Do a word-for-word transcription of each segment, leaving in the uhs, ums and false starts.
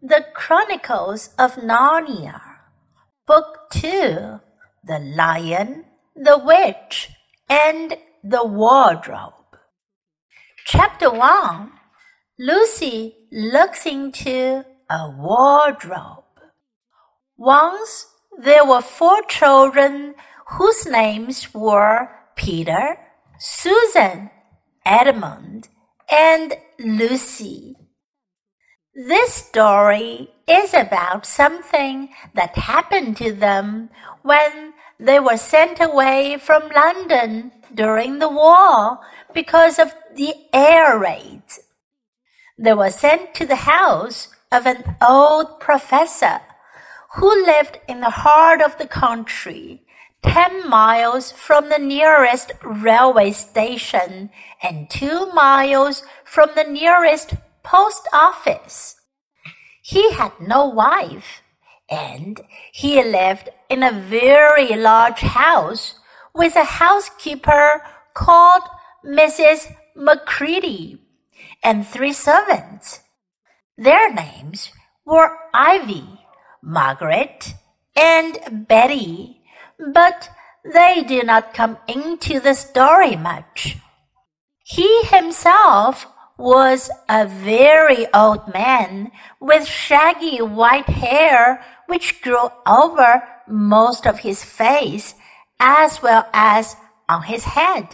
The Chronicles of Narnia, Book two, The Lion, the Witch, and the Wardrobe. Chapter one, Lucy looks into a wardrobe. Once there were four children whose names were Peter, Susan, Edmund, and Lucy. This story is about something that happened to them when they were sent away from London during the war because of the air raids. They were sent to the house of an old professor who lived in the heart of the country, ten miles from the nearest railway station and two miles from the nearest post office. He had no wife, and he lived in a very large house with a housekeeper called Missus Macready and three servants. Their names were Ivy, Margaret, and Betty, but they did not come into the story much. He himself was a very old man with shaggy white hair which grew over most of his face as well as on his head.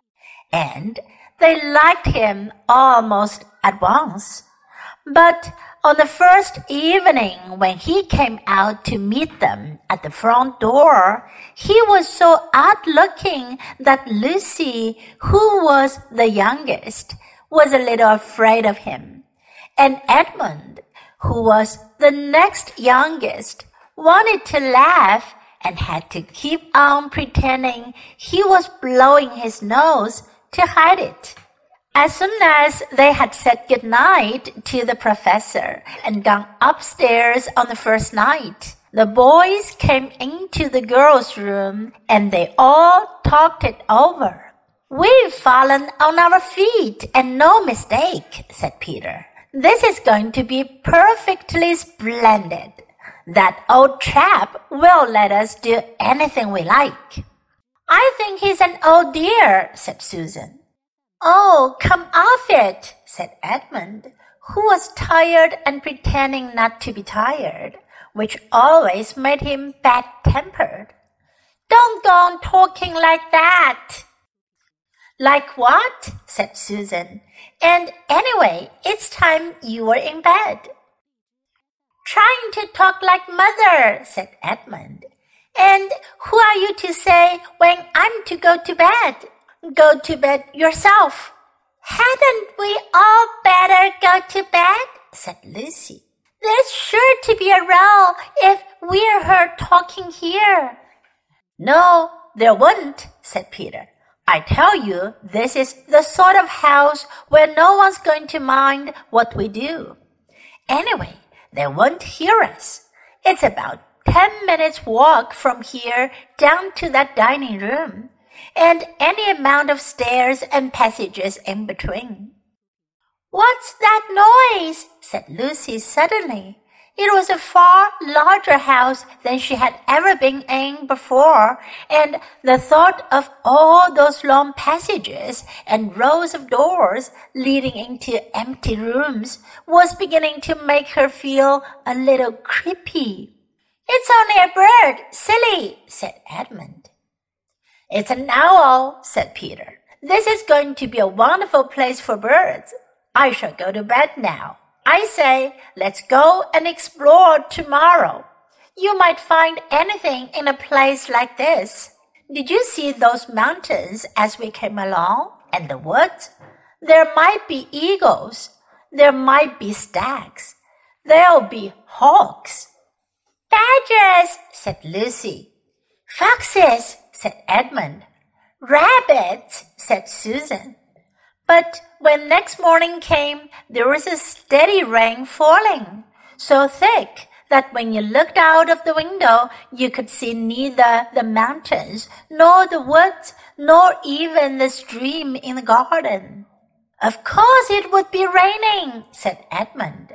And they liked him almost at once. But on the first evening when he came out to meet them at the front door, he was so odd-looking that Lucy, who was the youngest, was a little afraid of him, and Edmund, who was the next youngest, wanted to laugh and had to keep on pretending he was blowing his nose to hide it. As soon as they had said good night to the professor and gone upstairs on the first night, the boys came into the girls' room and they all talked it over. "We've fallen on our feet, and no mistake," said Peter. "This is going to be perfectly splendid. That old chap will let us do anything we like." "I think he's an old dear," said Susan. "Oh, come off it," said Edmund, who was tired and pretending not to be tired, which always made him bad-tempered. "Don't go on talking like that." "Like what?" said Susan. "And anyway, it's time you were in bed." "Trying to talk like mother," said Edmund. "And who are you to say when I'm to go to bed? Go to bed yourself." "Hadn't we all better go to bed?" said Lucy. "There's sure to be a row if we're heard talking here." "No, there wouldn't," said Peter. "I tell you, this is the sort of house where no one's going to mind what we do. Anyway, they won't hear us. It's about ten minutes' walk from here down to that dining room, and any amount of stairs and passages in between." "What's that noise?" said Lucy suddenly. It was a far larger house than she had ever been in before, and the thought of all those long passages and rows of doors leading into empty rooms was beginning to make her feel a little creepy. "It's only a bird, silly," said Edmund. "It's an owl," said Peter. "This is going to be a wonderful place for birds. I shall go to bed now. I say, let's go and explore tomorrow. You might find anything in a place like this. Did you see those mountains as we came along, and the woods? There might be eagles. There might be stags. There'll be hawks." "Badgers," said Lucy. "Foxes," said Edmund. "Rabbits," said Susan. But when next morning came, there was a steady rain falling, so thick that when you looked out of the window, you could see neither the mountains, nor the woods, nor even the stream in the garden. "Of course it would be raining," said Edmund.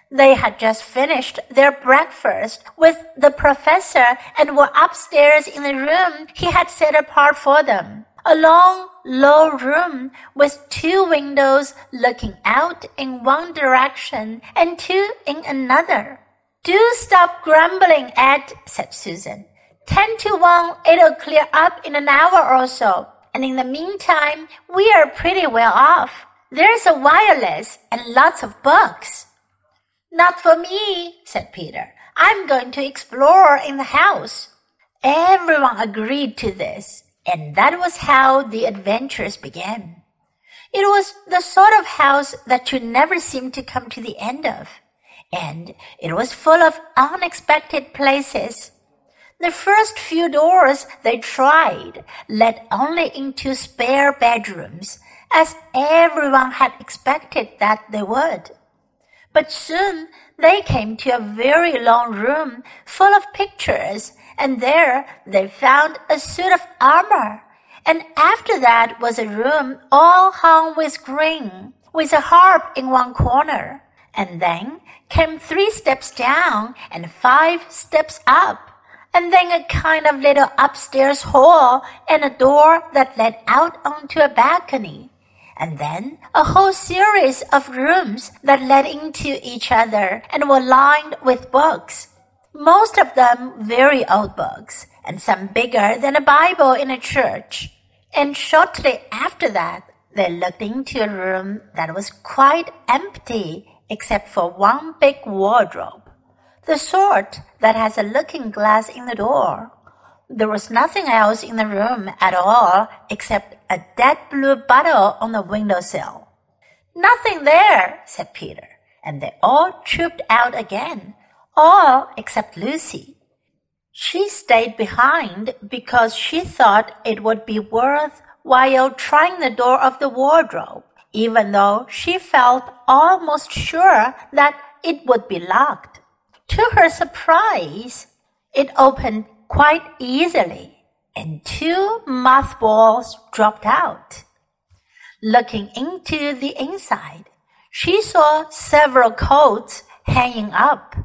They had just finished their breakfast with the professor and were upstairs in the room he had set apart for them. A long, low room with two windows looking out in one direction and two in another. "Do stop grumbling, Ed," said Susan. Ten to one, it'll clear up in an hour or so, and in the meantime, we are pretty well off. There's a wireless and lots of books." "Not for me," said Peter. "I'm going to explore in the house." Everyone agreed to this, and that was how the adventures began. It was the sort of house that you never seemed to come to the end of, and it was full of unexpected places. The first few doors they tried led only into spare bedrooms, as everyone had expected that they would. But soon they came to a very long room full of pictures, and there they found a suit of armor. And after that was a room all hung with green, with a harp in one corner. And then came three steps down and five steps up, and then a kind of little upstairs hall and a door that led out onto a balcony. And then a whole series of rooms that led into each other and were lined with books, most of them very old books, and some bigger than a Bible in a church. And shortly after that, they looked into a room that was quite empty except for one big wardrobe, the sort that has a looking glass in the door. There was nothing else in the room at all except a dead blue bottle on the windowsill. "Nothing there," said Peter, and they all trooped out again, all except Lucy. She stayed behind because she thought it would be worth while trying the door of the wardrobe, even though she felt almost sure that it would be locked. To her surprise, it opened quite easily, and two mothballs dropped out. Looking into the inside, she saw several coats hanging up,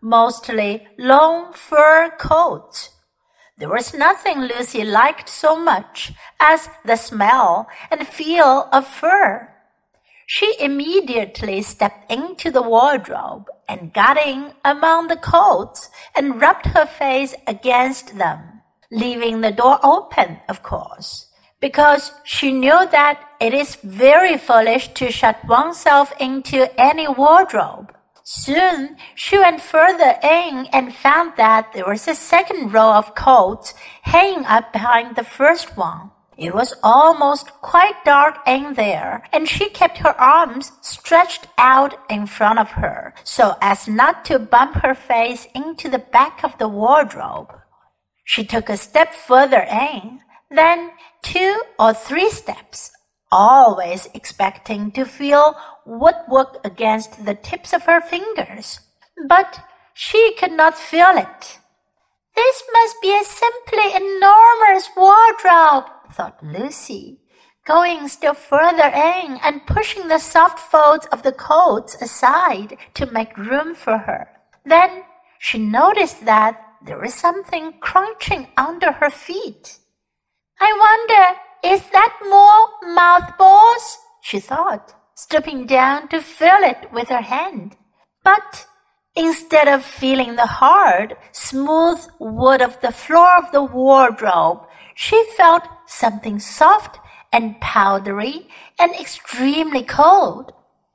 mostly long fur coats. There was nothing Lucy liked so much as the smell and feel of fur. She immediately stepped into the wardrobe and got in among the coats and rubbed her face against them, leaving the door open, of course, because she knew that it is very foolish to shut oneself into any wardrobe. Soon she went further in and found that there was a second row of coats hanging up behind the first one. It was almost quite dark in there, and she kept her arms stretched out in front of her so as not to bump her face into the back of the wardrobe. She took a step further in, then two or three steps, always expecting to feel woodwork against the tips of her fingers. But she could not feel it. "This must be a simply enormous wardrobe," thought Lucy, going still further in and pushing the soft folds of the coats aside to make room for her. Then she noticed that there was something crunching under her feet. "I wonder, is that more mothballs?" she thought, stooping down to feel it with her hand. But instead of feeling the hard, smooth wood of the floor of the wardrobe, she felt something soft and powdery and extremely cold.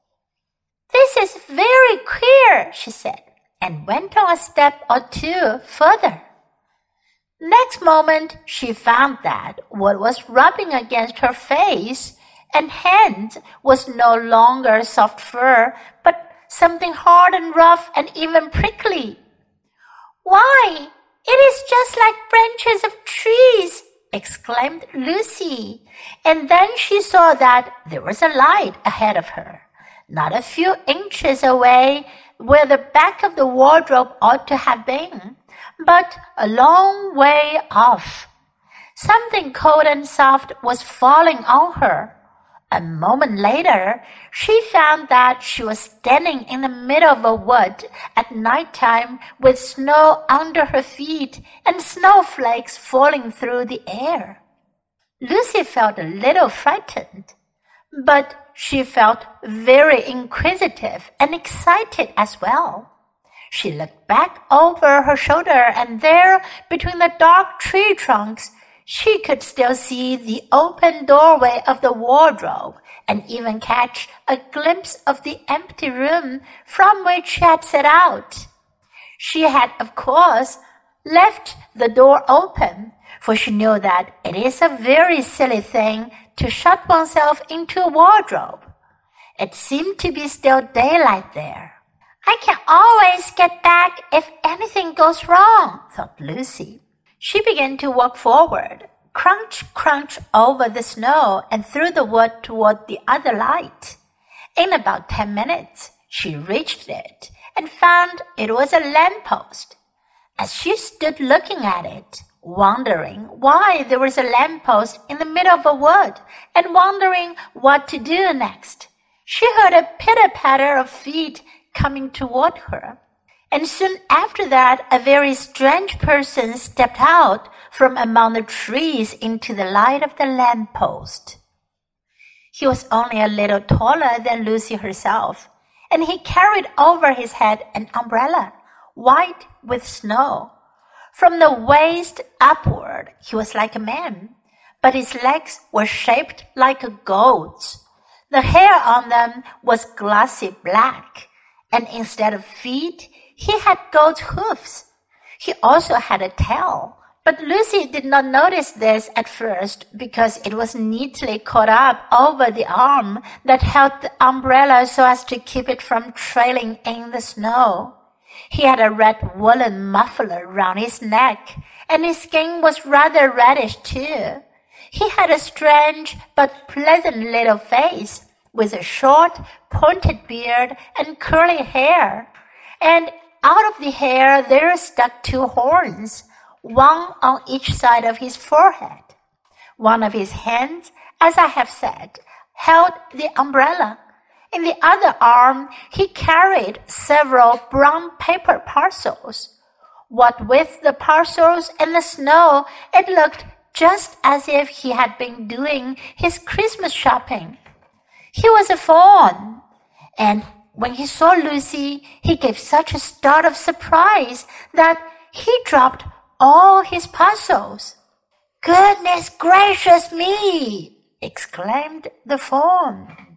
"This is very queer," she said, and went on a step or two further. Next moment, she found that what was rubbing against her face and hands was no longer soft fur, but something hard and rough and even prickly. "Why, it is just like branches of trees," exclaimed Lucy, and then she saw that there was a light ahead of her, not a few inches away where the back of the wardrobe ought to have been, but a long way off. Something cold and soft was falling on her, A moment later, she found that she was standing in the middle of a wood at night time with snow under her feet and snowflakes falling through the air. Lucy felt a little frightened, but she felt very inquisitive and excited as well. She looked back over her shoulder, and there, between the dark tree trunks, she could still see the open doorway of the wardrobe and even catch a glimpse of the empty room from which she had set out. She had, of course, left the door open, for she knew that it is a very silly thing to shut oneself into a wardrobe. It seemed to be still daylight there. I can always get back if anything goes wrong, thought Lucy. She began to walk forward, crunch, crunch over the snow and through the wood toward the other light. In about ten minutes, she reached it and found it was a lamppost. As she stood looking at it, wondering why there was a lamppost in the middle of a wood and wondering what to do next, she heard a pitter-patter of feet coming toward her. And soon after that, a very strange person stepped out from among the trees into the light of the lamppost. He was only a little taller than Lucy herself, and he carried over his head an umbrella, white with snow. From the waist upward, he was like a man, but his legs were shaped like a goat's. The hair on them was glossy black, and instead of feet, he had goat's hoofs. He also had a tail, but Lucy did not notice this at first because it was neatly caught up over the arm that held the umbrella so as to keep it from trailing in the snow. He had a red woolen muffler round his neck, and his skin was rather reddish too. He had a strange but pleasant little face, with a short, pointed beard and curly hair, and out of the hair there stuck two horns, one on each side of his forehead. One of his hands, as I have said, held the umbrella. In the other arm he carried several brown paper parcels. What with the parcels and the snow, it looked just as if he had been doing his Christmas shopping. He was a fawn, and when he saw Lucy, he gave such a start of surprise that he dropped all his parcels. "Goodness gracious me!" exclaimed the fawn.